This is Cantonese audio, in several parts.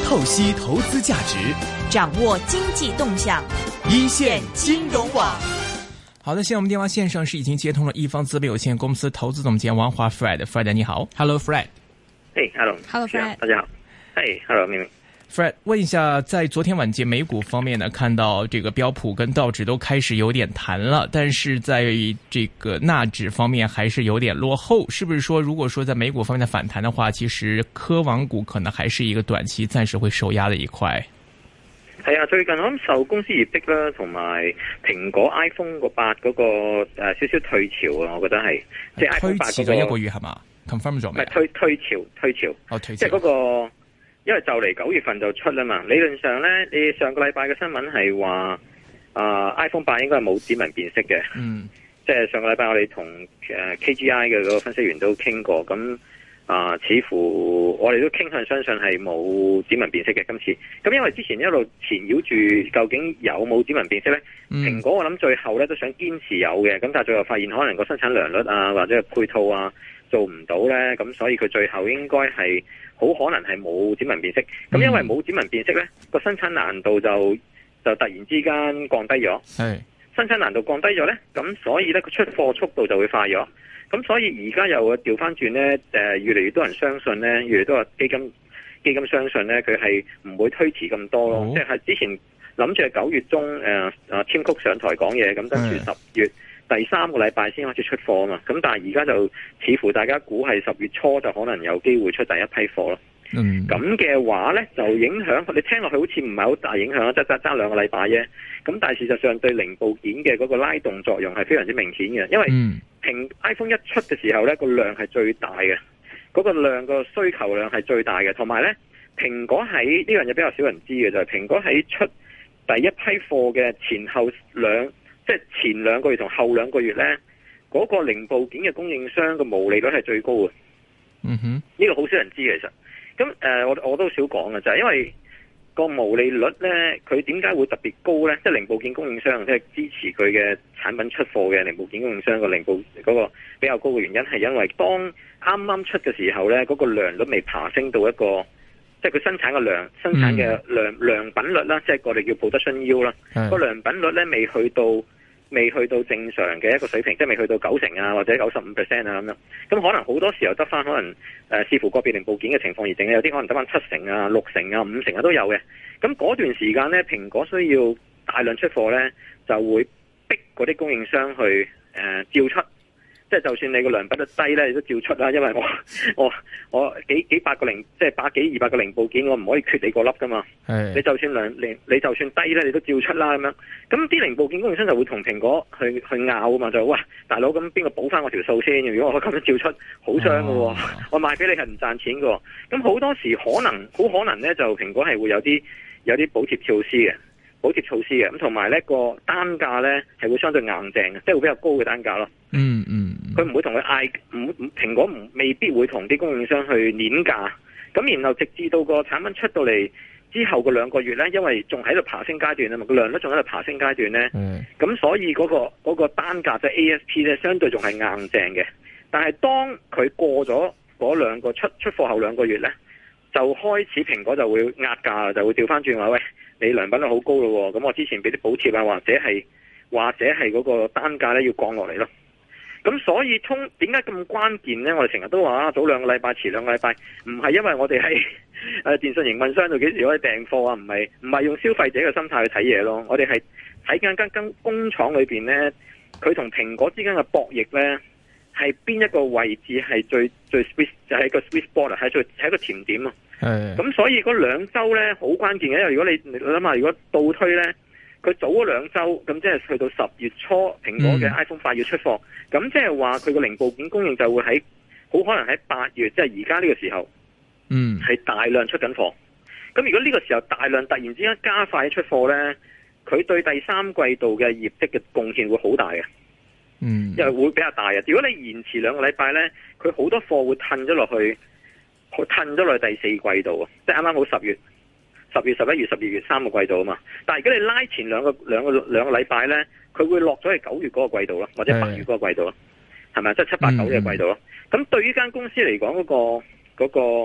透析投資價值， 掌握經濟動向， 一線金融網。 好的，現在我們電話線上是已經接通了一方資本有限公司投資總監王華 Fred 你好 ，Hello Fred。 嘿 ，Hello Fred， 大家好。嘿 ，Hello 明明。 Fred， 問一下，在昨天晚間美股方面呢，看到這個標普跟道指都開始有點彈了，但是在這個納指方面還是有點落後，是不是說如果說在美股方面的反彈的話，其實科網股可能還是一個短期暫時會受壓的一塊？ 係啊，最近我諗受公司業績啦，同埋蘋果 iPhone 個8嗰個少少退潮啊，我覺得係即係 iPhone 8嗰個推遲咗一個月係嘛 ？confirm 咗未？ 唔係退潮， 哦退潮， 即係嗰個。因為就嚟9月份就出啦嘛，理論上咧，你上個禮拜嘅新聞係話，iPhone 8應該係冇指紋辨識嘅。嗯，即係上個禮拜我哋同KGI 嘅嗰個分析員都傾過，咁似乎我哋都傾向相信係冇指紋辨識嘅今次。咁因為之前一路纏繞住究竟有冇指紋辨識咧，蘋果我諗最後咧都想堅持有嘅，咁但係最後發現可能個生產良率啊或者係配套啊做唔到咧，咁所以佢最後應該係。好可能係冇指紋辨識，咁因為冇指紋辨識呢個生產難度就突然之間降低咗。係生產難度降低咗呢，咁所以呢個出貨速度就會快咗。咁所以而家又調翻轉呢，越嚟越多人相信呢，越嚟越多基金相信呢，佢係唔會推遲咁多咯。即係之前諗住係9月中Tim Cook上台講嘢，咁跟住10月。第3個禮拜先開始出貨啊嘛，咁但係而家就似乎大家估係10月初就可能有機會出第一批貨咯。咁嘅話呢，就影響你聽落去好似唔係好大影響啊，即係爭2個禮拜啫。咁但係事實上對零部件嘅嗰個拉動作用係非常之明顯嘅，因為iPhone 一出嘅時候呢，個量係最大嘅，嗰個量個需求量係最大嘅，同埋呢，蘋果喺呢樣嘢比較少人知嘅就係蘋果喺出第一批貨嘅前後即係前2個月同後2個月呢，嗰個零部件嘅供應商嘅毛利率係最高嘅。呢個好少人知嘅其實。咁我都少講嘅就係因為個毛利率呢，佢點解會特別高呢？即係零部件供應商即係支持佢嘅產品出貨嘅零部件供應商個零部嗰個比較高嘅原因係因為當啱啱出嘅時候呢，嗰個良率未爬升到一個。即係佢生產嘅生產嘅良品率啦，即係我哋叫 production yield 啦，個良品率咧未去到正常嘅一個水平，即係未去到90%啊或者95%啊咁樣。咁可能好多時候得翻可能視乎個別零部件嘅情況而定，有啲可能得翻7%啊、6%啊、5%啊都有嘅。咁嗰段時間咧，蘋果需要大量出貨咧，就會逼嗰啲供應商去照出。即係就算你個良品率低咧，你都照出啦，因為我幾百個即係100幾200個零部件，我唔可以缺你個粒噶嘛。你就算你就算低咧，你都照出啦咁樣。咁啲零部件供應商就會同蘋果去拗啊嘛，就喂大佬，咁邊個補翻我條數先？如果我咁樣照出，好傷噶喎，我賣俾你係唔賺錢噶。咁好多時好可能咧，就蘋果係會有啲補貼措施嘅。咁同埋呢個單價呢係會相對硬淨嘅，即係會比較高嘅單價咯。佢唔會同佢嗌，蘋果未必會同啲供應商去碾價。咁然後直至到個產品出到嚟之後個2個月呢，因為仲喺度爬升階段啊嘛，個量都仲喺度爬升階段呢。咁所以嗰個單價即係 ASP 呢，相對仲係硬淨嘅。但係當佢過咗嗰2個出貨後2個月呢，就開始蘋果就會壓價，就會調翻轉話喂。你良品率好高咯，咁我之前俾啲補貼啊，或者係嗰個單價咧要降落嚟咯。咁所以點解咁關鍵咧？我哋成日都話早2個禮拜，遲2個禮拜，唔係因為我哋喺電信營運商度幾時可以訂貨啊？唔係用消費者嘅心態去睇嘢咯。我哋係睇緊間工廠裏邊咧，佢同蘋果之間嘅博弈咧，係邊一個位置係最 sweet， 就係個 sweet spot 係一個甜點啊。咁所以嗰2週咧好關鍵嘅，因為如果你諗下，如果倒推咧，佢早咗2週，咁即係去到10月初，蘋果嘅 iPhone 8要出貨，咁即係話佢個零部件供應就會好可能喺8月，即係而家呢個時候，係大量出緊貨。咁如果呢個時候大量突然之間加快出貨咧，佢對第3季度嘅業績嘅貢獻會好大嘅，因為會比較大嘅。如果你延遲2個禮拜咧，佢好多貨會褪咗落去。佢褪咗落去第4季度啊，即係啱啱好10月、11月、12月3個季度啊嘛。但係如果你拉前兩個禮拜咧，佢會落咗去9月嗰個季度咯，或者8月嗰個季度咯，係咪？即係7、8、9嘅季度咯。咁對於間公司嚟講，嗰個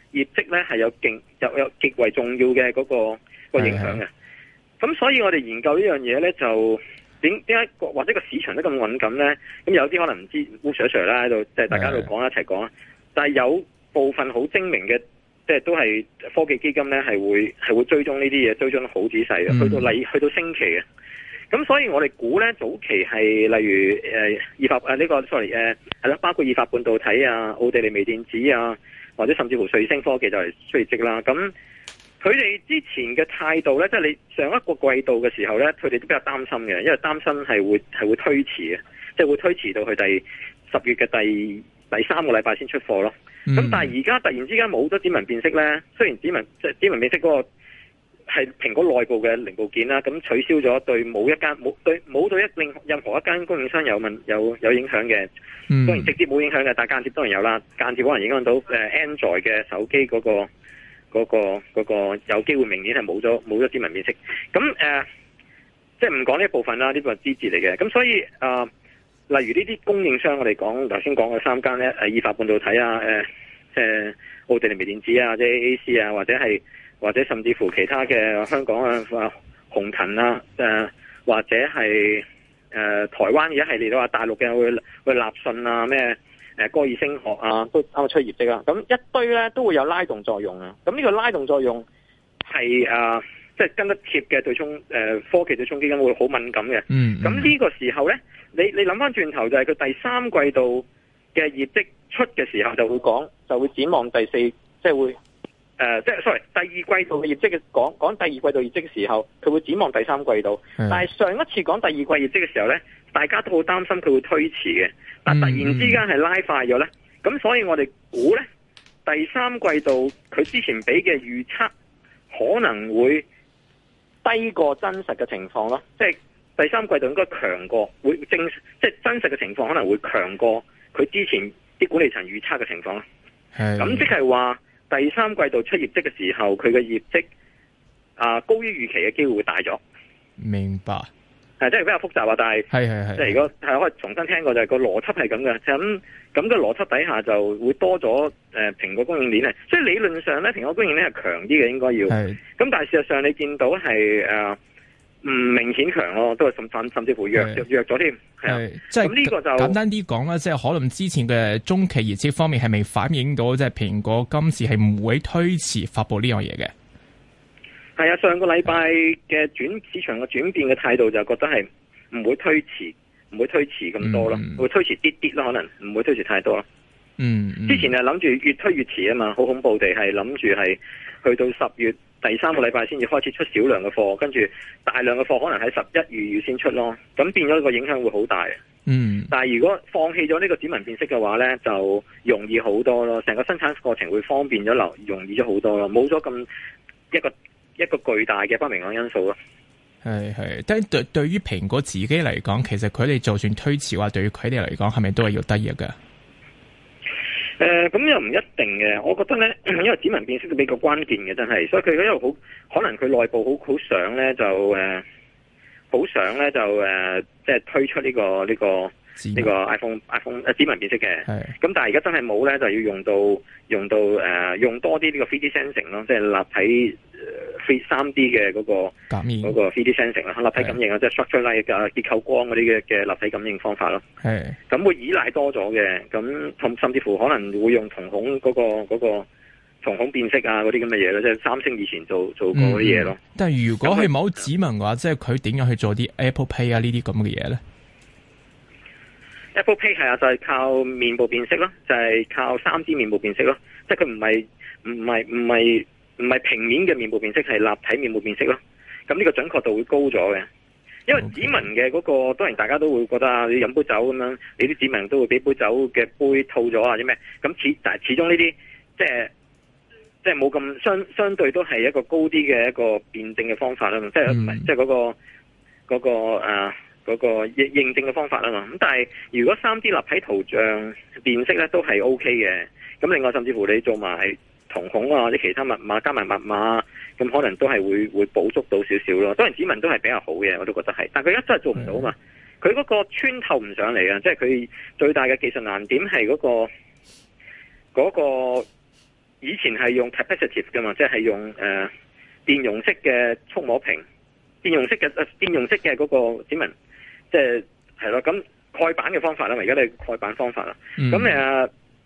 業績咧係有極為重要嘅嗰個影響嘅。咁所以我哋研究呢樣嘢咧，就點解或者個市場都咁敏感咧？咁有啲可能唔知烏 Sir 啦喺度，即係大家都講一齊講。但係有部分好精明嘅，即係都係科技基金咧，係會追蹤呢啲嘢，追蹤得好仔細嘅，去到星期嘅。咁所以我哋估咧，早期係例如係啦，包括意法半導體啊、奧地利微電子啊，或者甚至乎瑞星科技就係衰積啦。咁佢哋之前嘅態度咧，即係你上一個季度嘅時候咧，佢哋都比較擔心嘅，因為擔心係會推遲嘅，即係會推遲到去10月嘅第3個禮拜先出貨咯。咁但係而家突然之間冇咗指紋辨識咧，雖然指紋辨識嗰個係蘋果內部嘅零部件啦，咁取消咗對冇到任何一間供應商有影響嘅。當然直接冇影響嘅，但係間接當然有啦。間接可能影響到Android 嘅手機嗰個有機會明年係冇咗指紋辨識。咁即係唔講呢一部分啦，呢個係枝節嚟嘅。咁所以例如呢啲供應商，我哋頭先講嘅3間咧，意法半導體啊，奧地利微電子啊，即係 AAC 啊，或者甚至乎其他嘅香港啊、鴻勤啊，或者係台灣嘅一系列都話大陸嘅會立訊啊，咩歌爾聲學啊，都啱啱出業績啊。咁一堆咧都會有拉動作用啊。咁呢個拉動作用係即係跟得貼嘅對沖科技對沖基金會好敏感嘅。咁呢個時候咧，你諗翻轉頭就係佢第3季度嘅業績出嘅時候就會展望第4，即係會。第二季度嘅業績嘅講第二季度業績嘅時候，佢會展望第3季度。但係上一次講第二季業績嘅時候呢，大家都好擔心佢會推遲嘅。但突然之間係拉快咗呢，咁所以我哋估呢，第3季度佢之前俾嘅預測可能會低過真實嘅情況咯。即係第3季度應該強過，即係真實嘅情況可能會強過佢之前啲管理層預測嘅情況咯。咁即係話。第3季度出業績嘅時候，佢嘅業績高於預期嘅機會會大咗。明白，即係比較複雜啊！但係即係如果係可以重新聽過，就係個邏輯係咁嘅。咁嘅邏輯底下就會多咗蘋果供應鏈，所以理論上咧，蘋果供應鏈係強啲嘅，應該要。咁但係事實上你見到係唔明顯強咯，都係甚至乎弱咗添。係即係咁呢個就簡單啲講啦，即係可能之前嘅中期業績方面係未反映到，即係蘋果今次係唔會推遲發佈呢樣嘢嘅。 係啊，上個禮拜嘅市場嘅轉變嘅態度就覺得係唔會推遲咁多咯，會推遲啲咯，可能唔會推遲太多咯。之前係諗住越推越遲啊嘛，好恐怖地係諗住係去到10月第3個禮拜先至開始出少量嘅貨，跟住大量嘅貨可能喺11、12月先出咯，咁變咗個影響會好大。但係如果放棄咗呢個指紋辨識嘅話呢，就容易好多咯，成個生產過程會方便咗，容易咗好多咯，冇咗咁一個巨大嘅不明朗因素咯。 係，但係對於蘋果自己嚟講，其實佢哋就算推遲話，對於佢哋嚟講係咪都係要得益嘅？ 咁又唔一定嘅，我覺得咧，因為指紋辨識都比較關鍵嘅，真係，所以佢一路可能佢內部好想咧就即係推出呢個 iPhone 指紋辨識嘅。咁但係而家真係冇咧，就要用多啲呢個 3D sensing 咯，即係立體3D 嘅嗰個 3D sensing 啦，立體感應啊，即係 structure light 嘅結構光嗰啲嘅立體感應方法咯。咁會依賴多咗嘅，咁甚至乎可能會用瞳孔嗰個瞳孔辨識啊嗰啲咁嘅嘢咯，即係三星以前做過嗰啲嘢咯。 但係如果係冇指紋嘅話，即係佢點樣去做啲 Apple Pay 啊呢啲咁嘅嘢咧 ？Apple Pay 係啊，就係靠面部辨識咯，就係靠 3D 面部辨識咯，即係佢唔係平面嘅面部辨識，係立體面部辨識咯。咁呢個準確度會高咗嘅，因為指紋嘅嗰個當然大家都會覺得啊，你飲杯酒咁樣，你啲指紋都會俾杯酒嘅杯套咗啊，或者咩？咁但係始終呢啲即係冇咁相對都係一個高啲嘅一個辯證嘅方法啦嘛，即係唔係即係嗰個認證嘅方法啦嘛。咁但係如果 3D 立體圖像辨識咧都係 OK 嘅。咁另外甚至乎你做埋瞳孔啊或者其他密碼加埋密碼，咁可能都係會補足到少少咯。當然指紋都係比較好嘅，我都覺得係。但佢而家真係做唔到啊嘛。佢嗰個穿透唔上嚟啊，即係佢最大嘅技術難點係嗰個以前係用 capacitive 噶嘛，即係用電容式嘅觸摸屏，電容式嘅嗰個指紋，即係咯，咁蓋板嘅方法啦，而家你蓋板方法啦，咁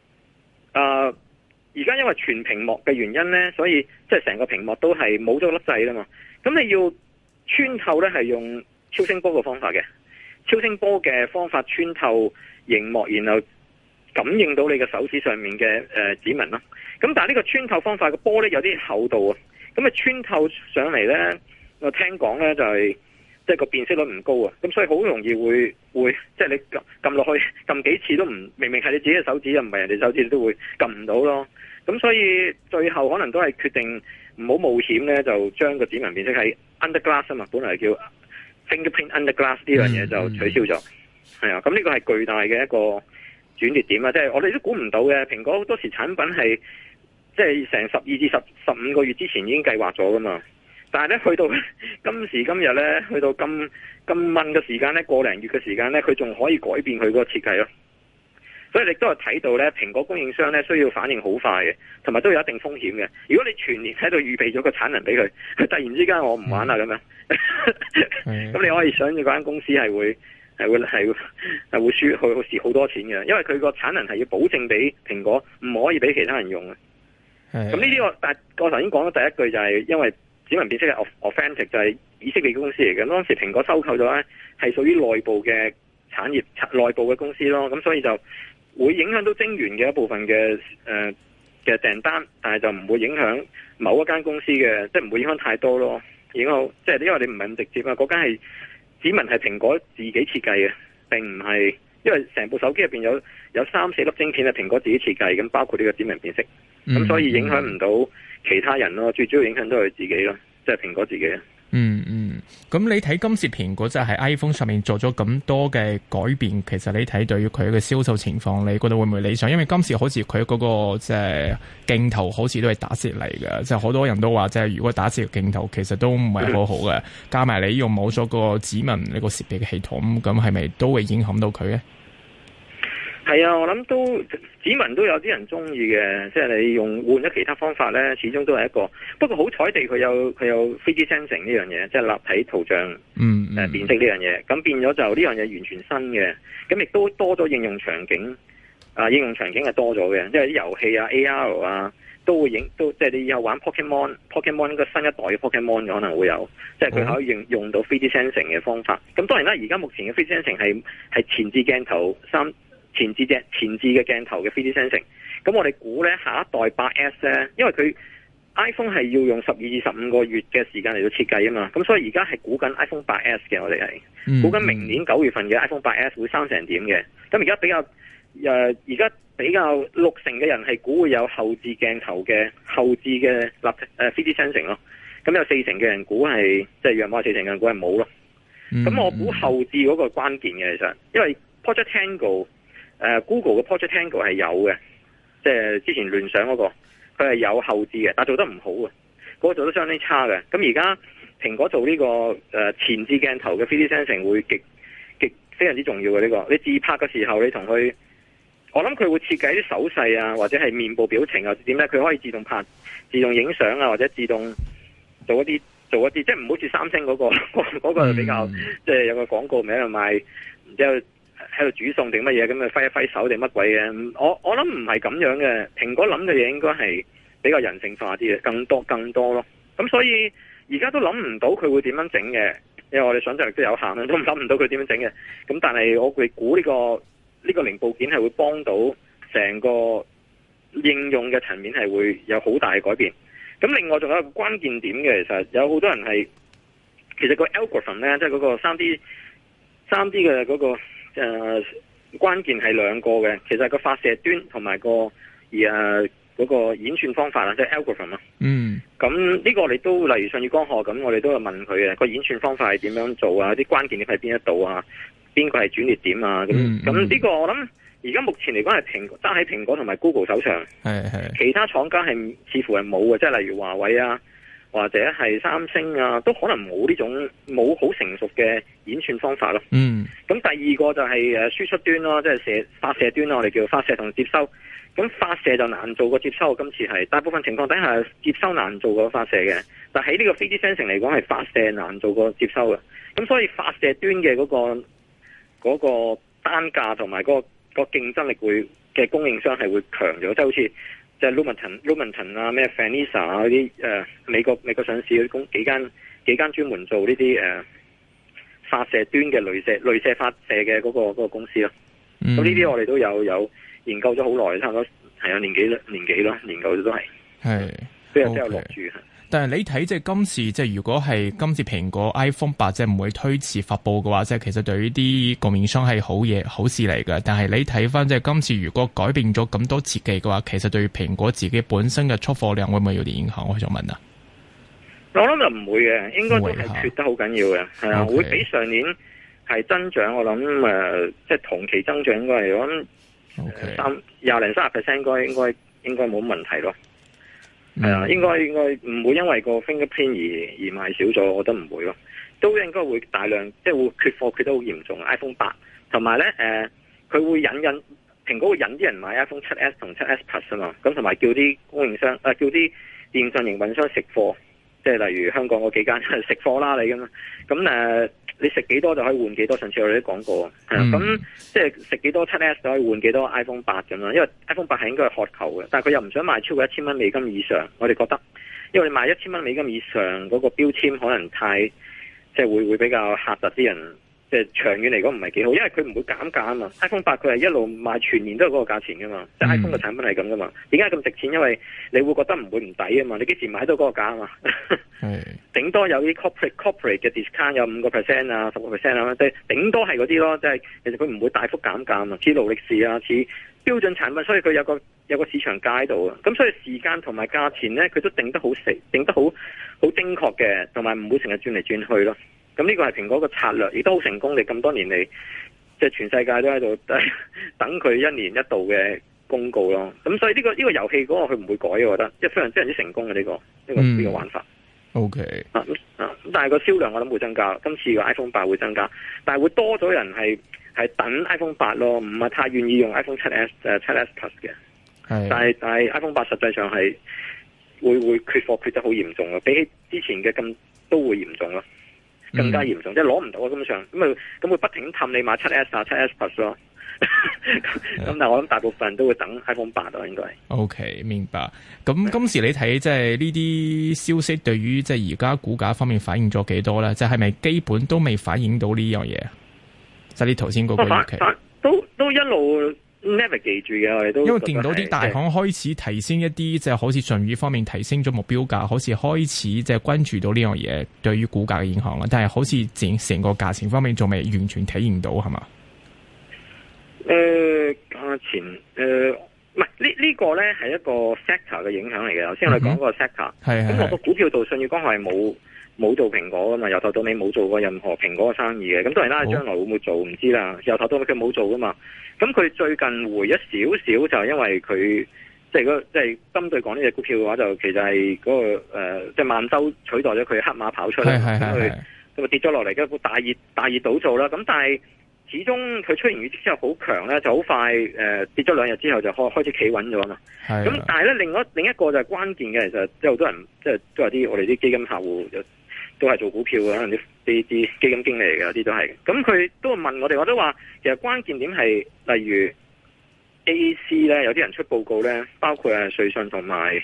而家因為全屏幕嘅原因咧，所以即係成個屏幕都係冇咗粒掣啦嘛。咁你要穿透咧，係用超聲波嘅方法嘅，超聲波嘅方法穿透熒幕，然後感應到你嘅手指上面嘅指紋咯。咁但係呢個穿透方法嘅波咧有啲厚度啊，咁啊穿透上嚟咧，我聽講咧就係即係個辨識率唔高啊，咁所以好容易會即係你撳落去撳幾次都唔明明係你自己嘅手指，又唔係人哋手指，你都會撳唔到咯。咁所以最後可能都係決定唔好冒險咧，就將個指紋辨識喺 under glass 啊嘛，本來叫 fingerprint under glass 呢樣嘢就取消咗。係啊，咁呢個係巨大嘅一個轉捩點啊！即係我哋都估唔到嘅，蘋果好多時產品係即係成12至15個月之前已經計劃咗噶嘛。但係咧，去到今時今日咧，去到咁問嘅時間咧，個零月嘅時間咧，佢仲可以改變佢嗰個設計咯。所以你都係睇到咧，蘋果供應商咧需要反應好快嘅，同埋都有一定風險嘅。如果你全年喺度預備咗個產能俾佢，佢突然之間我唔玩啦咁樣，咁你可以想，嗰間公司係會輸去好多錢嘅，因為佢個產能係要保證俾蘋果，唔可以俾其他人用嘅。咁呢啲但係我頭先講咗第一句就係因為指紋辨識係 Authentic 就係以色列嘅公司嚟嘅，當時蘋果收購咗咧係屬於內部嘅產業內部嘅公司咯，咁所以就會影響到晶圓嘅一部分嘅訂單，但係就唔會影響某一間公司嘅，即係唔會影響太多咯。影響即係因為你唔係咁直接啊，嗰間係指紋係蘋果自己設計嘅，並唔係因為成部手機入邊有3-4粒晶片係蘋果自己設計，咁包括呢個指紋辨識，咁所以影響唔到其他人咯，最主要影響都係自己咯，即係蘋果自己。 咁你睇今次蘋果就係 iPhone 上面做咗咁多嘅改變，其實你睇對於佢嘅銷售情況，你覺得會唔會理想？因為今次好似佢嗰個即係鏡頭好似都係打折嚟嘅，即係好多人都話即係如果打折嘅鏡頭其實都唔係好好嘅，加埋你用冇咗個指紋呢個設備嘅系統，咁係咪都會影響到佢咧？ 係啊，我諗都指紋都有啲人中意嘅，即係你用換咗其他方法咧，始終都係一個。不過好彩地佢有 3D sensing 呢樣嘢，即係立體圖像辨識呢樣嘢，咁變咗就呢樣嘢完全新嘅，咁亦都多咗應用場景。應用場景係多咗嘅，即係啲遊戲啊、AR 啊都會即係你以後玩 Pokemon 應該新一代嘅 Pokemon 可能會有，即係佢可以用到 3D sensing 嘅方法。咁當然啦，而家目前嘅 3D sensing 係前置鏡頭前置嘅鏡頭嘅 3D sensing， 咁我哋估咧下一代 8S 咧，因為佢 iPhone 係要用12至15個月嘅時間嚟到設計啊嘛，咁所以而家係估緊 iPhone 8S 嘅，我哋係估緊明年9月份嘅 iPhone 8S 會生成點嘅。咁而家比較60%嘅人係估會有後置鏡頭嘅後置嘅 3D sensing 咯，咁有40%嘅人估係即係約莫40%嘅人估係冇咯。咁我估後置嗰個關鍵嘅其實，因為 Project Tango。Google 嘅 Project Tango 係有嘅，即係之前聯想嗰個，佢係有後置嘅，但係做得唔好啊，嗰個做得相當差嘅。咁而家蘋果做呢個前置鏡頭嘅 3D sensing 會極非常之重要嘅呢個。你自拍嘅時候，你同佢，我諗佢會設計啲手勢啊，或者係面部表情啊，點咧？佢可以自動拍、自動影相啊，或者自動做一啲，即係唔好似三星嗰個比較，即係有個廣告名賣，然之後喺度煮餸定乜嘢咁啊，揮一揮手定乜鬼嘅？我諗唔係咁樣嘅，蘋果諗嘅嘢應該係比較人性化啲嘅，更多咯。咁所以而家都諗唔到佢會點樣整嘅，因為我哋想象力都有限啦，都諗唔到佢點樣整嘅。咁但係我會估呢個零部件係會幫到成個應用嘅層面係會有好大嘅改變。咁另外仲有一個關鍵點嘅，其實有好多人係其實個 algorithm 咧，即係嗰個3D 嘅嗰個。關鍵係兩個嘅，其實係個發射端同埋嗰個演算方法啊，即係 algorithm 啊。咁呢個我哋都例如上月光學咁，我哋都有問佢嘅個演算方法係點樣做啊？啲關鍵點喺邊一度啊？邊個係轉捩點啊？咁呢個我諗而家目前嚟講係揸喺蘋果同埋 Google 手上，其他廠家係似乎係冇嘅，即係例如華為啊。或者係三星啊，都可能冇好成熟嘅演算方法咯。咁第二個就係輸出端咯，即係發射端咯，我哋叫發射同接收。 咁發射就難做過接收，今次係大部分情況底下接收難做過發射嘅，但喺呢個 3D sensing 嚟講係發射難做過接收嘅。咁所以發射端嘅嗰個單價同埋嗰個競爭力嘅供應商係會強咗，即係好似即係 Lumentum 啊、咩 Finisar 啊嗰啲美國上市嗰幾間專門做呢啲發射端嘅雷射發射嘅嗰個公司咯。咁呢啲我哋都有研究咗好耐，差唔多係有年幾咯，研究咗都係都有落注。 但係你睇即係今次即係如果係今次蘋果 iPhone 8即係唔會推遲發佈嘅話，即係其實對於啲供應商係好事嚟嘅。但係你睇翻即係今次如果改變咗咁多設計嘅話，其實對蘋果自己本身嘅出貨量會唔會有啲影響？我想問啊。 我諗就唔會嘅，應該都係缺得好緊要嘅，係啊，會比上年係增長。我諗即係同期增長應該係我諗20-30% 應該冇問題咯。係啊，應該唔會因為個 fingerprint 而賣少咗，我覺得唔會咯，都應該會大量即係會缺貨缺得好嚴重。iPhone 8同埋咧佢會蘋果會引啲人買 iPhone 7S 同 7S Plus 啊嘛，咁同埋叫啲供應商叫啲電信營運商食貨，即係例如香港嗰幾間食貨啦你咁你食幾多就可以換幾多，上次我哋都講過，咁即係食幾多 7S 就可以換幾多 iPhone 8咁啦，因為 iPhone 8係應該係渴求嘅，但係佢又唔想賣超過$1000美金以上，我哋覺得，因為你賣$1000美金以上嗰個標籤可能太即係會比較嚇得啲人。即係長遠嚟講唔係幾好，因為佢唔會減價啊嘛。iPhone 8佢係一路賣全年都係嗰個價錢噶嘛，即係 iPhone 嘅產品係咁噶嘛。點解咁值錢？因為你會覺得唔會唔抵啊嘛。你幾時買到嗰個價啊嘛？頂多有啲 corporate 嘅 discount 有5% 啊、10% 啊，即係頂多係嗰啲咯。即係其實佢唔會大幅減價啊嘛。似勞力士啊，似標準產品，所以佢有個市場價喺度啊。咁所以時間同埋價錢咧，佢都定得好死，定得好精確嘅，同埋唔會成日轉嚟轉去咯。咁呢個係蘋果個策略，亦都好成功。你咁多年嚟，即係全世界都喺度等佢一年一度嘅公告咯。咁所以呢個遊戲嗰個佢唔會改，我覺得即係非常之成功嘅呢個玩法。 OK 但係個銷量我諗會增加，今次個 iPhone 8會增加，但係會多咗人係等 iPhone 8咯，唔係太願意用 iPhone 7S 7S Plus 嘅。但係 iPhone 8實際上係會缺貨缺得好嚴重咯，比起之前嘅咁都會嚴重咯。更加嚴重，即係攞唔到啊！根本上咁會不停氹你買 7S 啊、7S Plus 咯。咁但係我諗大部分人都會等 iPhone 8咯，應該。OK， 明白。咁今時你睇即係呢啲消息對於即係而家股價方面反映咗幾多咧？即係咪基本都未反映到呢樣嘢？即係你頭先嗰個預期都一路 navigate 住嘅，我哋都因為見到啲大行開始提升一啲，即係好似舜宇方面提升咗目標價，好似開始即係關注到呢樣嘢對於股價嘅影響啦。但係好似成個價錢方面仲未完全體現到，係嘛？ 價錢唔係呢個咧係一個 sector 嘅影響嚟嘅。頭先我哋講個 sector，咁我個股票度舜宇光學係冇做蘋果噶嘛，由頭到尾冇做過任何蘋果嘅生意嘅。咁當然啦，將來會唔會做唔知啦。由頭到尾佢冇做噶嘛。咁佢最近回一少少，就係因為佢即係針對講呢隻股票嘅話，就其實係嗰個即係萬洲取代咗佢黑馬跑出嚟，咁跌咗落嚟，一個大熱倒灶啦。咁但係始終佢出完業績之後好強咧，就好快跌咗2日之後就開始企穩咗嘛。咁但係咧另一個就係關鍵嘅，其實即係好多人即係都係啲我哋啲基金客戶都係做股票嘅，可能啲基金經理嚟嘅，有啲都係。咁佢都問我哋，我都話其實關鍵點係例如 AAC 咧，有啲人出報告咧，包括瑞信同埋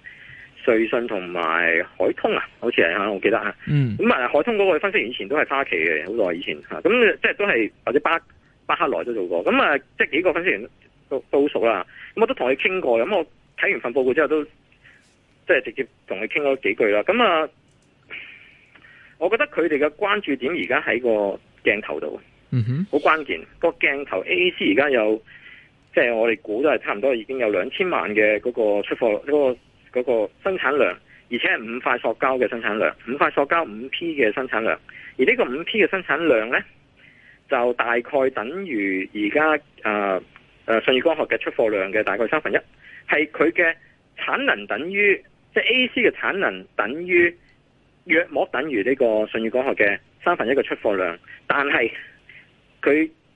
海通啊，好似係我記得啊。咁海通嗰個分析員以前都係花旗嘅，好耐以前嚇。咁即係都係或者巴克萊都做過。咁即係幾個分析員都熟啦。咁我都同佢傾過。咁我睇完份報告之後都即係直接同佢傾咗幾句啦。咁我覺得佢哋嘅關注點而家喺個鏡頭度，好關鍵。個鏡頭 AAC 而家有，即係我哋估都係差唔多已經有2000萬嘅嗰個出貨嗰個生產量，而且係5塊塑膠嘅生產量，5塊塑膠5P 嘅生產量。而呢個5P 嘅生產量呢，就大概等於而家舜宇光學嘅出貨量嘅大概1/3，係佢嘅產能等於即係 AAC 嘅產能等於。約莫等於呢個舜宇光學嘅1/3嘅出貨量，但係佢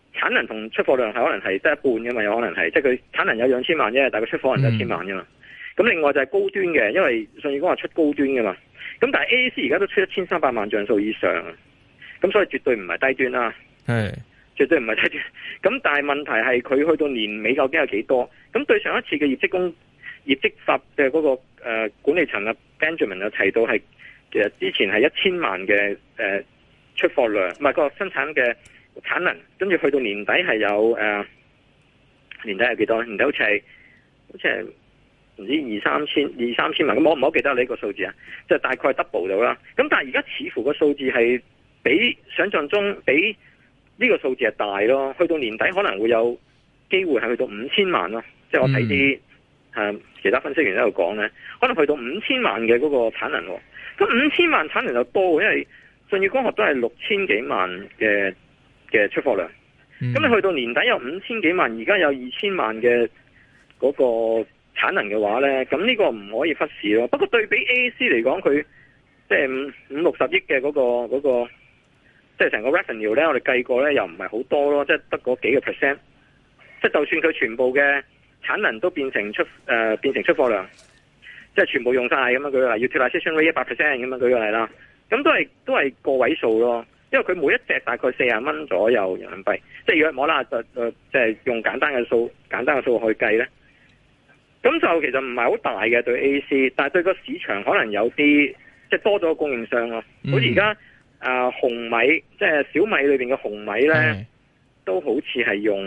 產能同出貨量係可能係得一半㗎嘛，有可能係，即係佢產能有2000萬啫，但係佢出貨量得1000萬㗎嘛。咁另外就係高端嘅，因為舜宇光話出高端㗎嘛。咁但係 AAC 而家都出1300萬像素以上，咁所以絕對唔係低端啦。係，絕對唔係低端。咁但係問題係佢去到年尾究竟有幾多？咁對上一次嘅業績發嘅嗰個管理層啊 Benjamin 有提到係其實之前係1000萬嘅出貨量，唔係個生產嘅產能，跟住去到年底係有年底係幾多？年底好似係唔知二三千萬，咁我唔係好記得你呢個數字啊，即係大概 double 到啦。咁但係而家似乎個數字係比想象中比呢個數字係大咯，去到年底可能會有機會係去到5000萬咯。即係我睇啲其他分析員喺度講咧，可能去到5000萬嘅嗰個產能。咁5000萬產能就多，因為舜宇光學都係6000幾萬嘅出貨量。咁你去到年底有5000幾萬，而家有2000萬嘅嗰個產能嘅話咧，咁呢個唔可以忽視咯。不過對比 AAC 嚟講，佢即係50-60億嘅嗰個，即係成個 revenue 咧，我哋計過咧又唔係好多咯，即係得嗰幾個 percent。即係就算佢全部嘅產能都變成出貨量，即係全部用晒咁樣，舉個例 utilization rate 100% 咁樣舉個例啦，咁都係個位數咯。因為佢每一隻大概40蚊左右人民幣，即係約摸啦，即係用簡單嘅數去計咧。咁就其實唔係好大嘅對 AAC， 但係對個市場可能有啲即係多咗個供應商咯。好似而家紅米，即係小米裏邊嘅紅米咧，都好似係用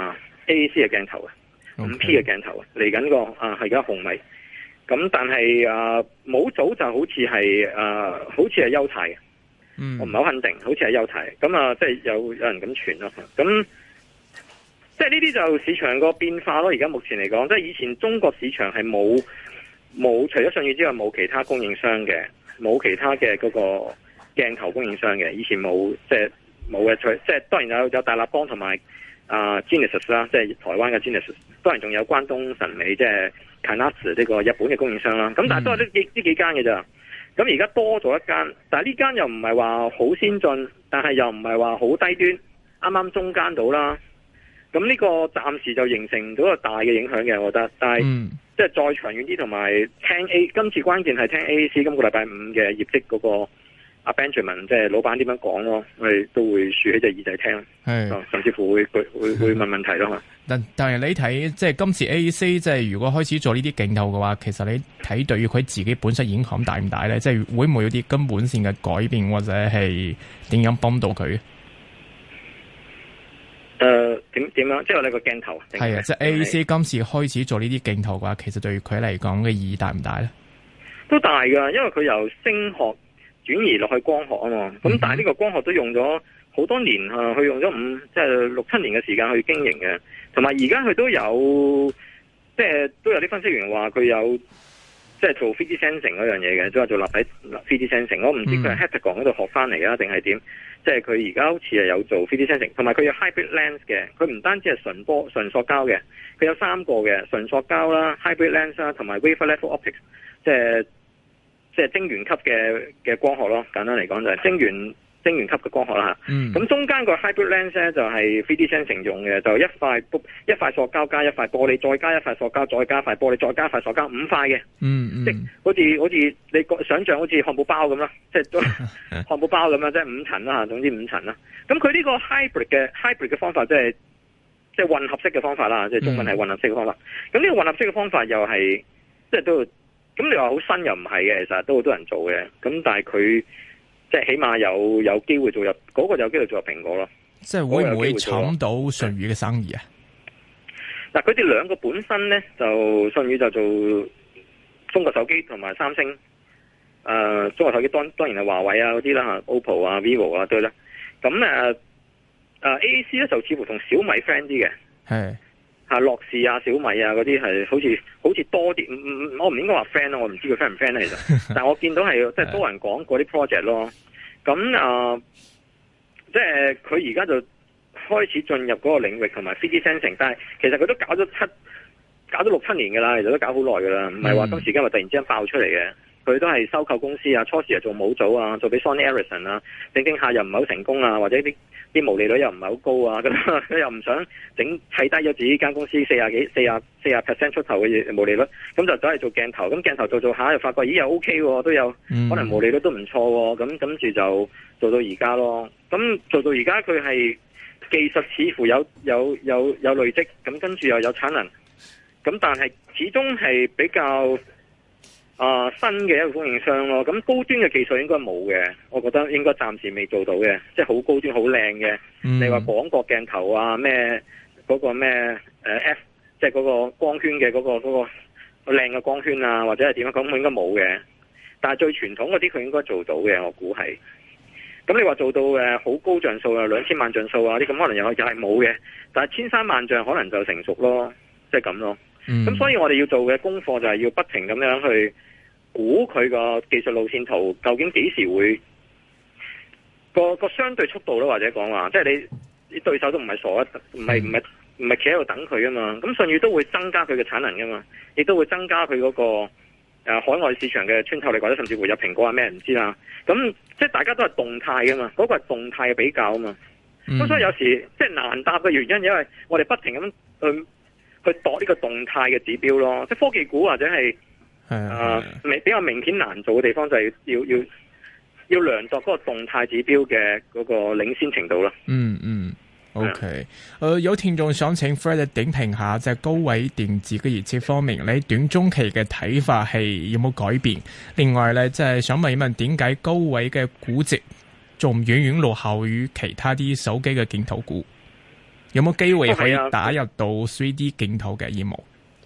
AAC 嘅鏡頭嘅5P 嘅鏡頭嚟緊個係而家紅米。咁但係模組就好似係優泰嘅，我唔係好肯定，好似係優泰。咁即係有人咁傳咯。咁即係呢啲就市場個變化咯。而家目前嚟講，即係以前中國市場係冇除咗舜宇之外冇其他供應商嘅，冇其他嘅嗰個鏡頭供應商嘅。以前冇，即係冇嘅。即係當然有大立邦同埋Genesis 啦，即係台灣嘅 Genesis。當然仲有關東神美，即係 Canatsu 呢個日本嘅供應商啦。咁但係都係呢幾間嘅咋。咁而家多咗一間，但係呢間又唔係話好先進，但係又唔係話好低端，啱啱中間到啦。咁呢個暫時就形成咗個大嘅影響嘅，我覺得。但係即係再長遠啲，同埋聽今次關鍵係聽 AAC 今個禮拜5嘅業績嗰個阿 Benjamin 即係老闆點樣講咯，我哋都會豎起隻耳仔聽，甚至乎會問問題咯。 但係你睇即係今次 AAC 即係如果開始做呢啲鏡頭嘅話，其實你睇對於佢自己本身影響大唔大咧？即係會唔會有啲根本性嘅改變，或者係點樣幫到佢？ 點樣？即係我哋個鏡頭係啊，即係 AAC 今次開始做呢啲鏡頭嘅話，其實對佢嚟講嘅意義大唔大咧？都大噶，因為佢由聲學轉移落去光學啊嘛。咁但係呢個光學都用咗好多年啊，佢用咗即係6-7年嘅時間去經營嘅。同埋而家佢都有，即係都有啲分析員話佢有即係做 3D sensing 嗰樣嘢嘅，即係做立體 3D sensing。我唔知佢係 Heptagon 嗰度學翻嚟啊，定係點？即係佢而家好似係有做 3D sensing， 同埋佢有 hybrid lens 嘅。佢唔單止係純塑膠嘅，佢有3個嘅純塑膠啦、hybrid lens 啦，同埋 wafer level optics， 即係晶圓級嘅光學咯。簡單嚟講就係晶圓級嘅光學啦嚇。咁中間個 hybrid lens 咧就係 3D sensing 用嘅，就一塊塑膠加一塊玻璃，再加一塊塑膠，再加一塊玻璃，再加一塊塑膠，5塊嘅。即係好似你想象好似漢堡包咁啦，即係漢堡包咁樣，即係5層啦嚇，總之5層啦。咁佢呢個 hybrid 嘅方法即係混合式嘅方法啦，即係中文係混合式嘅方法。咁呢個混合式嘅方法又係即係都咁你話好新又唔係嘅，其實都好多人做嘅。咁但係佢即係起碼有機會做入嗰個，有機會做入蘋果咯。即係會唔會搶到舜宇嘅生意啊？嗱，佢哋兩個本身咧就舜宇就做中國手機同埋三星，中國手機當然係華為啊嗰啲啦吓 ，OPPO 啊、vivo 啊對啦。咁AAC 咧就似乎同小米 friend 啲嘅，係吓樂視啊、小米啊嗰啲係好似多啲。我唔應該話 friend 咯，我唔知佢 friend 唔 friend 咧其實。但係我見到係即係多人講嗰啲 project 咯。咁即係佢而家就開始進入嗰個領域同埋 3D sensing， 但係其實佢都搞咗6-7年㗎啦，其實都搞好耐㗎啦，唔係話今時今日突然之間爆出嚟嘅。 佢都係收購公司啊，初時係做模組啊，做俾 Sony Ericsson 啊，整下又唔係好成功啊，或者啲毛利率又唔係好高啊，咁佢又唔想砌低咗自己間公司40% 出頭嘅毛利率，咁就走去做鏡頭，咁鏡頭做下又發覺咦又 OK 喎，都有可能毛利率都唔錯喎，咁跟住就做到而家咯。咁做到而家佢係技術似乎有累積，咁跟住又有產能，咁但係始終係比較新嘅一個供應商咯。咁高端嘅技術應該冇嘅，我覺得應該暫時未做到嘅，即係好高端好靚嘅。你話廣角鏡頭啊，咩嗰個咩F， 即係嗰個光圈嘅嗰個靚嘅光圈啊，或者係點樣咁，應該冇嘅。但係最傳統嗰啲佢應該做到嘅，我估係。咁你話做到好高像素啊，2000萬像素啊啲咁，可能又係冇嘅。但係1300萬像可能就成熟咯，即係咁咯。咁所以我哋要做嘅功課就係要不停咁樣去估佢個技術路線圖究竟幾時會個相對速度咯，或者講話即係你對手都唔係傻啊，唔係企喺度等佢噶嘛。咁舜宇都會增加佢嘅產能噶嘛，亦都會增加佢嗰個海外市場嘅穿透力，或者甚至會有蘋果啊咩唔知啦。咁即係大家都係動態噶嘛，嗰個係動態嘅比較啊嘛。咁所以有時即係難答嘅原因，因為我哋不停咁去度呢個動態嘅指標咯。即係科技股或者係比較明顯難做嘅地方，就係要量度嗰個動態指標嘅嗰個領先程度咯。 OK， 有聽眾想請 Fred 點評下，即係高位電子嘅業績方面，你短中期嘅睇法係有冇改變？另外咧，即係想問一問，點解高位嘅估值仲遠遠落後於其他啲手機嘅鏡頭股？有冇機會可以打入到 3D 鏡頭嘅業務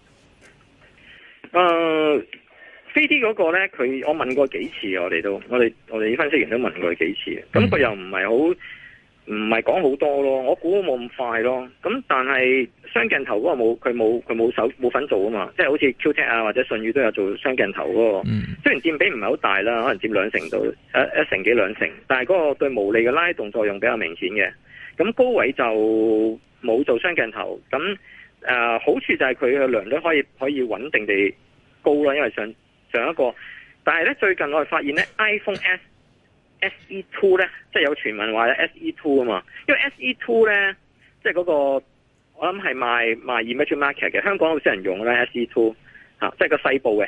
？3D 嗰個咧，我問過幾次，我哋啲分析員都問過幾次，咁佢又唔係講好多咯，我估冇咁快咯。咁但係雙鏡頭嗰個佢冇份做啊嘛，即係好似 QTech 啊或者舜宇都有做雙鏡頭嗰個，雖然佔比唔係好大啦，可能佔2成到一成幾2成，但係嗰個對毛利嘅拉動作用比較明顯嘅。咁高位就冇做雙鏡頭，咁好處就係佢嘅良率可以穩定地高啦，因為上一個，但係咧最近我哋發現咧 iPhone SE2 咧，即係有傳聞話有 SE2 啊嘛，因為 SE2 咧即係嗰個我諗係賣 emerging market 嘅，香港好少人用啦 SE2 即係個細部嘅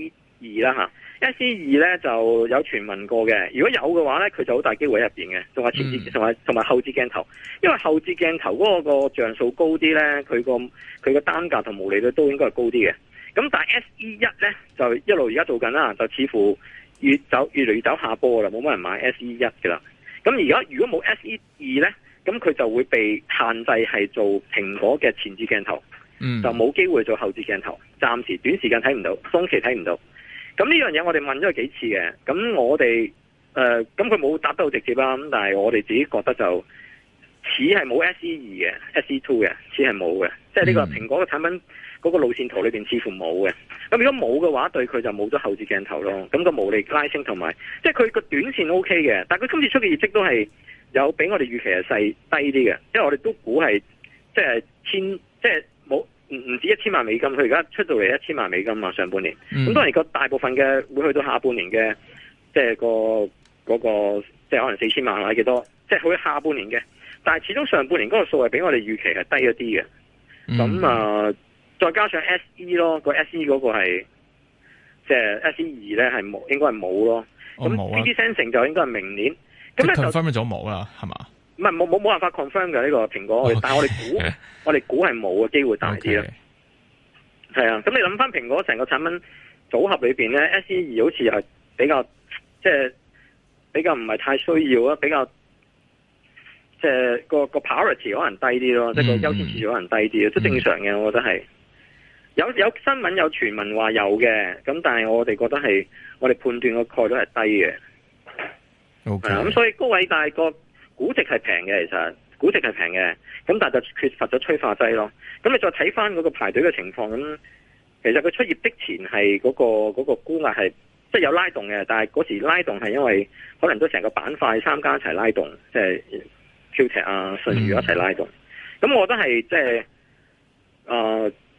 SE2 啦SE2 咧就有傳聞過嘅，如果有嘅話咧，佢就好大機會喺入邊嘅，仲係前置同埋後置鏡頭，因為後置鏡頭嗰個像素高啲咧，佢個單價同毛利率都應該係高啲嘅。咁但係 SE1 咧就一路而家做緊啦，就似乎越嚟越走下坡啦，冇乜人買 SE1 噶啦。咁而家如果冇 SE2 咧，咁佢就會被限制係做蘋果嘅前置鏡頭，就冇機會做後置鏡頭，暫時短時間睇唔到，中期睇唔到。咁呢樣嘢我哋問咗佢幾次嘅，咁我哋咁佢冇答得好直接啦，咁但係我哋自己覺得就似係冇 SE2 嘅 SE2 嘅，似係冇嘅，即係呢個蘋果嘅產品嗰個路線圖裏邊似乎冇嘅。咁如果冇嘅話，對佢就冇咗後置鏡頭咯。咁個毛利拉升同埋，即係佢個短線 OK 嘅，但係佢今次出嘅業績都係有比我哋預期係細低啲嘅，因為我哋都估係即係即係冇。唔止1000萬美金，佢而家出到嚟1000萬美金嘛，上半年。咁當然個大部分嘅會去到下半年嘅，即係嗰個即係可能4000萬或者幾多，即係去下半年嘅。但係始終上半年嗰個數係比我哋預期係低一啲嘅。咁再加上 SE 咯，個 SE 嗰個係即係 SE2 咧係冇，應該係冇咯。咁 3D Sensing 就應該係明年。咁咧就 confirm 咗冇啦，係嘛？ 唔係冇辦法 confirm 嘅呢個蘋果，但係我哋估係冇嘅機會大啲咯。係啊，咁你諗翻蘋果成個產品組合裏邊咧 ，SE2 好似係比較即係比較唔係太需要啊，比較即係個 priority 可能低啲咯，即係個優先次序可能低啲，都正常嘅，我覺得係。有新聞有傳聞話有嘅，咁但係我哋覺得係我哋判斷個概率係低嘅。咁所以高位但係個估值係平嘅，其實估值係平嘅，咁但係就缺乏咗催化劑咯。咁你再睇翻嗰個排隊嘅情況，咁其實佢出業績前係嗰個估額係即係有拉動嘅，但係嗰時拉動係因為可能都成個板塊三家一齊拉動，即係 QTech 啊、舜宇一齊拉動。咁我覺得係即係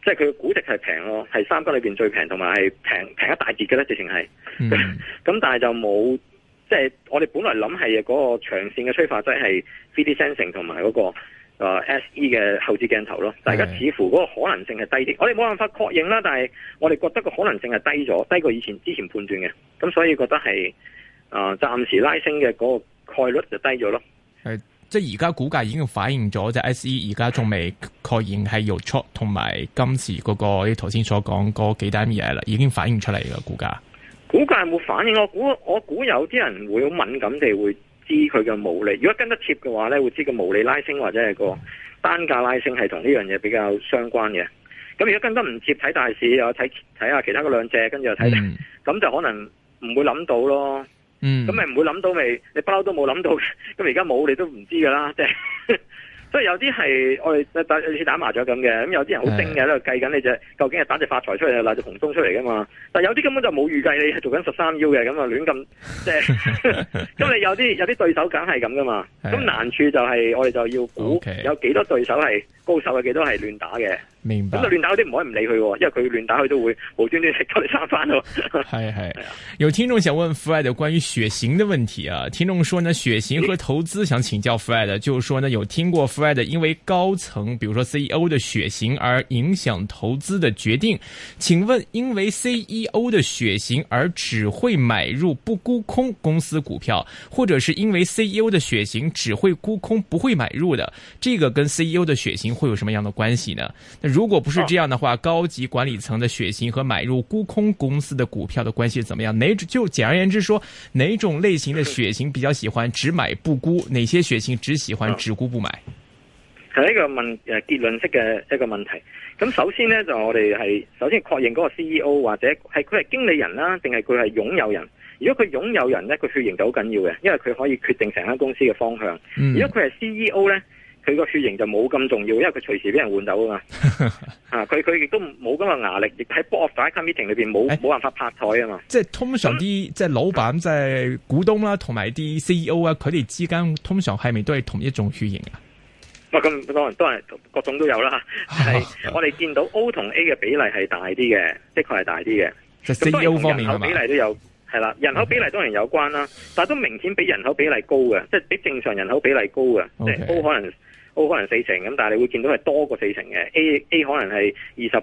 即係佢嘅估值係平咯，係三間裏邊最平，同埋係平一大截嘅咧，直情係。咁但係就冇，即係我哋本來諗係嗰個長線嘅催化劑係 3D sensing 同埋嗰個SE 嘅後置鏡頭咯。大家似乎嗰個可能性係低啲，我哋冇辦法確認啦，但係我哋覺得個可能性係低咗，低過之前判斷嘅。咁所以覺得係暫時拉升嘅嗰個概率就低咗咯。 即係而家股價已經反映咗，即係 SE 而家仲未確認係有出，同埋今次嗰個你頭先所講嗰幾單嘢啦，已經反映出嚟嘅股價。 股價有冇反應？我估有啲人會好敏感地會知佢嘅毛利。如果跟得貼嘅話咧，會知個毛利拉升或者係個單價拉升係同呢樣嘢比較相關嘅。咁如果跟得唔貼，睇大市又睇下其他嗰兩隻，跟住又睇，咁就可能唔會諗到咯。咁咪唔會諗到咪？你不嬲都冇諗到，咁而家冇你都唔知噶啦，即係。所以有啲係我哋類似打麻雀咁嘅，咁有啲人好精嘅喺度計緊你究竟係打隻發財出嚟，定隻紅中出嚟噶嘛？但係有啲根本就冇預計你係做緊13腰嘅，咁啊亂咁即係。咁你有啲對手梗係咁噶嘛？咁難處就係我哋就要估有幾多對手係高手嘅，幾多係亂打嘅。 明白。 咁就亂打嗰啲唔可以唔理佢，因為佢亂打佢都會無端端食咗你3番咯。 係。有聽眾想問 Fred 關於血型的問題啊，聽眾說呢血型和投資想請教 Fred，就是說呢有聽過 Fred 因為高層，比如說 CEO 的血型而影響投資的決定，請問因為 CEO 的血型而只會買入不沽空公司股票，或者是因為 CEO 的血型只會沽空不會買入的，這個跟 CEO 的血型會有什麼樣的關係呢？如果不是這樣的話，高級管理層的血型和買入沽空公司的股票的關係怎麼樣？就簡而言之說，哪種類型的血型比較喜歡只買不沽，哪些血型只喜歡只沽不買？ 係一個結論式嘅一個問題。咁首先呢，就我哋係首先確認嗰個 CEO 或者係佢係經理人啦，定係佢係擁有人。如果佢擁有人呢，佢血型就好緊要嘅，因為佢可以決定成間公司嘅方向。如果佢係 CEO 呢，佢個血型就冇咁重要，因為佢隨時俾人換走啊嘛。佢亦都冇咁嘅壓力，亦喺 board of directors meeting 裏邊冇辦法拍台啊嘛。即係通常啲即係老闆、即係股東啦，同埋啲 CEO 啊，佢哋之間通常係咪都係同一種血型啊？ 咁當然都係各種都有啦。係我哋見到 O 同 A 嘅比例係大啲嘅，的確係大啲嘅。 即係 CEO 方面係嘛？ 人口比例都有，係啦，人口比例當然有關啦，但係都明顯比人口比例高嘅，即係比正常人口比例高嘅。即係 O 可能4成咁，但係你會見到係多過4成嘅。A 可能係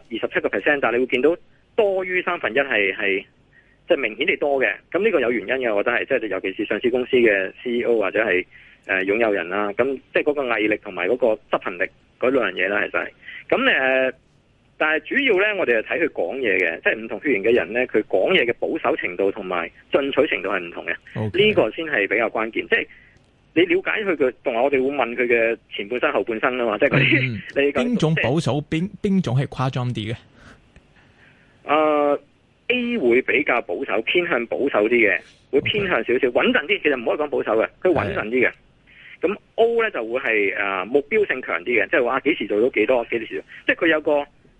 27%，但係你會見到多於1/3係即係明顯地多嘅。咁呢個有原因嘅，我覺得係即係尤其是上市公司嘅 CEO 或者係擁有人啦。咁即係嗰個毅力同埋嗰個執行力嗰兩樣嘢啦，其實係咁但係主要咧，我哋係睇佢講嘢嘅，即係唔同血型嘅人咧，佢講嘢嘅保守程度同埋進取程度係唔同嘅。呢個先係比較關鍵，即係。你了解佢嘅，同埋我哋會問佢嘅前半生後半生啊嘛，即係嗰啲你邊種保守，邊種係誇張啲嘅 ？A 會比較保守，偏向保守啲嘅，會偏向少少穩陣啲。其實唔可以講保守嘅，佢穩陣啲嘅。咁 O 咧就會係目標性強啲嘅，即係話幾時做到幾多，幾時做，即係佢有個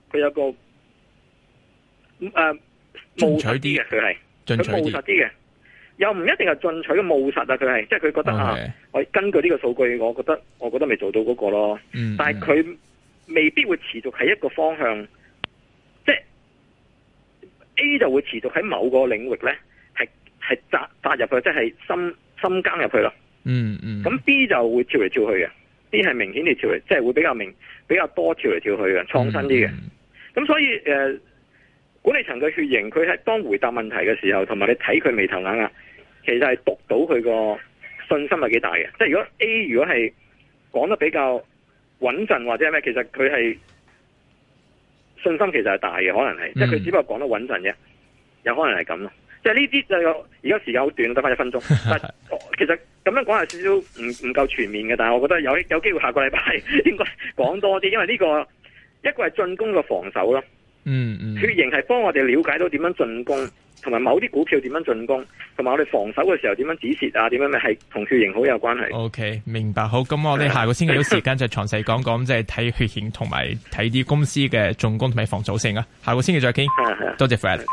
務實啲嘅，佢係佢務實啲嘅。又唔一定係進取嘅務實啊！佢係即係佢覺得我根據呢個數據，我覺得未做到嗰個咯。但係佢未必會持續喺一個方向，即係 A 就會持續喺某個領域咧，係扎入去，即係深耕入去咯。咁 B 就會跳嚟跳去嘅，B 係明顯地跳嚟，即係會比較多跳嚟跳去嘅，創新啲嘅。咁所以管理層嘅血型，佢喺當回答問題嘅時候，同埋你睇佢眉頭眼額，其實係讀到佢個信心係幾大嘅。即係如果 A 如果係講得比較穩陣或者係咩，其實佢係信心其實係大嘅，可能係，即係佢只不過講得穩陣啫，有可能係咁咯。即係呢啲就而家時間好短，得翻1分鐘。但其實咁樣講係少少唔夠全面嘅，但係我覺得有機會下個禮拜應該講多啲，因為呢個一個係進攻嘅防守咯。血型係幫我哋了解到點樣進攻，同埋某啲股票點樣進攻，同埋我哋防守嘅時候點樣止蝕啊，點樣係同血型好有關係。OK， 明白。好，咁我哋下個星期有時間就詳細講講，即係睇血型同埋睇啲公司嘅進攻同埋防守性啊。下個星期再傾。多謝 Fred。